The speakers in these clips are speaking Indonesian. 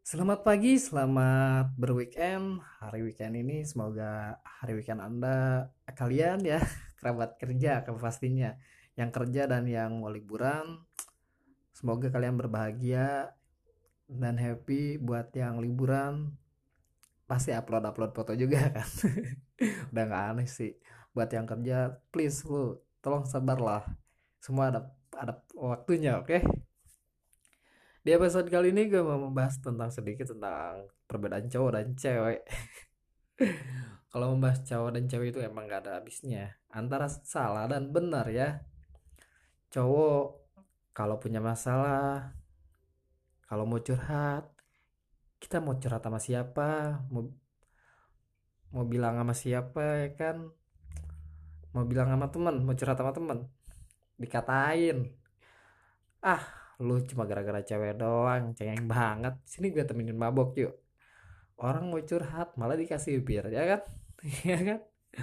Selamat pagi, selamat berweekend. Hari weekend ini semoga hari weekend Anda kalian ya kerabat kerja kan pastinya. Yang kerja dan yang mau liburan, semoga kalian berbahagia dan happy. Buat yang liburan pasti upload-upload foto juga kan. Udah nggak aneh sih. Buat yang kerja, please lu tolong sabarlah. Semua ada waktunya, oke? Di episode kali ini gue mau membahas tentang sedikit tentang perbedaan cowok dan cewek. Kalau membahas cowok dan cewek itu emang gak ada habisnya. Antara salah dan benar ya. Cowok kalau punya masalah, kalau mau curhat, kita mau curhat sama siapa, mau mau bilang sama siapa ya kan? Mau bilang sama teman, mau curhat sama teman, dikatain, ah lu cuma gara-gara cewek doang, cengeng banget. Sini gue temenin mabok yuk. Orang mau curhat malah dikasih bir ya kan? Ya kan?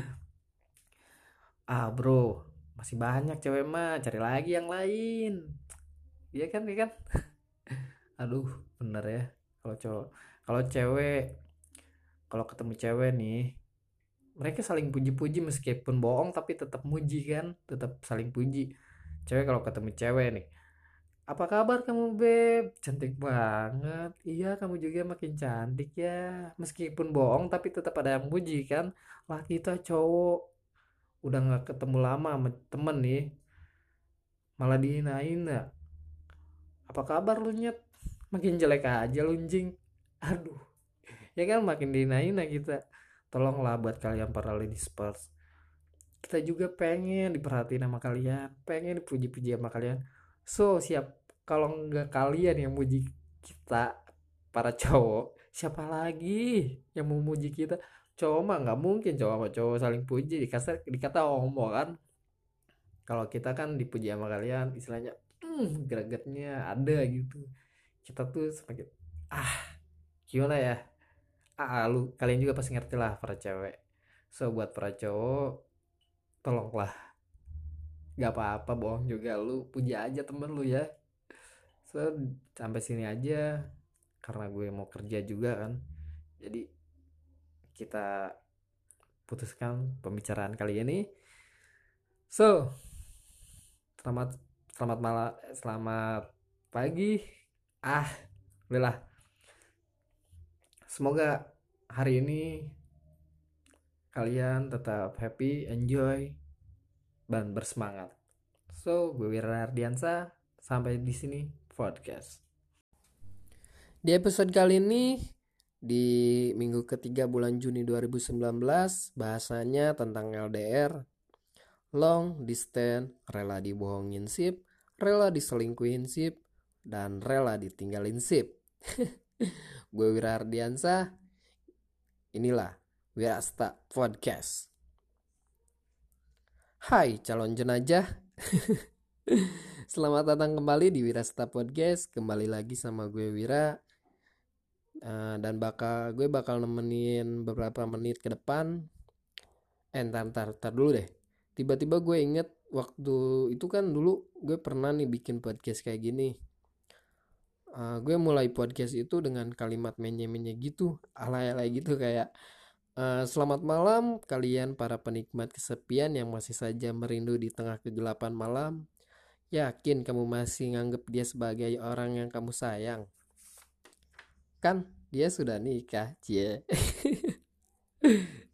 Ah bro, masih banyak cewek mah, cari lagi yang lain. Iya kan, iya kan? Aduh, bener ya. Kalau cowok, kalau cewek, kalau ketemu cewek nih, mereka saling puji-puji meskipun bohong tapi tetap muji kan, tetap saling puji. Cewek kalau ketemu cewek nih, apa kabar kamu beb? Cantik banget. Iya, kamu juga makin cantik ya. Meskipun bohong tapi tetap ada yang muji kan. Lah kita cowok udah nggak ketemu lama sama temen nih, malah dihinain ya. Apa kabar lu nyet? Makin jelek aja lunjing. Aduh, ya kan makin dihina-hina kita. Tolonglah buat kalian para ladies first, kita juga pengen diperhatiin sama kalian, pengen dipuji-puji sama kalian. So siap, kalau nggak kalian yang muji kita para cowok, siapa lagi yang mau muji kita? Cowok mah nggak mungkin cowok sama cowok saling puji, dikata homo kan. Kalau kita kan dipuji sama kalian istilahnya, gregetnya ada gitu. Kita tuh semakin ah gimana ya, lu kalian juga pasti ngerti lah para cewek. So buat para cowok, tolonglah, gak apa-apa bohong juga, lu puji aja temen lu ya. So sampai sini aja karena gue mau kerja juga kan, jadi kita putuskan pembicaraan kali ini. So selamat selamat malam, selamat pagi. ah Udahlah, semoga hari ini kalian tetap happy, enjoy, dan bersemangat. So, gue Wira Ardiansa, sampai di sini podcast. Di episode kali ini, di minggu ketiga bulan Juni 2019, bahasanya tentang LDR, long distance, rela dibohongin sip, rela diselingkuhin sip, dan rela ditinggalin sip. Gue Wira Ardiansa, inilah Wirasta Podcast. Hai calon jenajah. Selamat datang kembali di Wirasta Podcast. Kembali lagi sama gue Wira. Dan gue bakal nemenin beberapa menit ke depan. Ntar dulu deh. Tiba-tiba gue inget waktu itu kan dulu gue pernah nih bikin podcast kayak gini. Gue mulai podcast itu dengan kalimat menye-menye gitu, alay-alay gitu kayak, selamat malam kalian para penikmat kesepian yang masih saja merindu di tengah kegelapan malam. Yakin kamu masih nganggep dia sebagai orang yang kamu sayang? Kan dia sudah nikah, cie.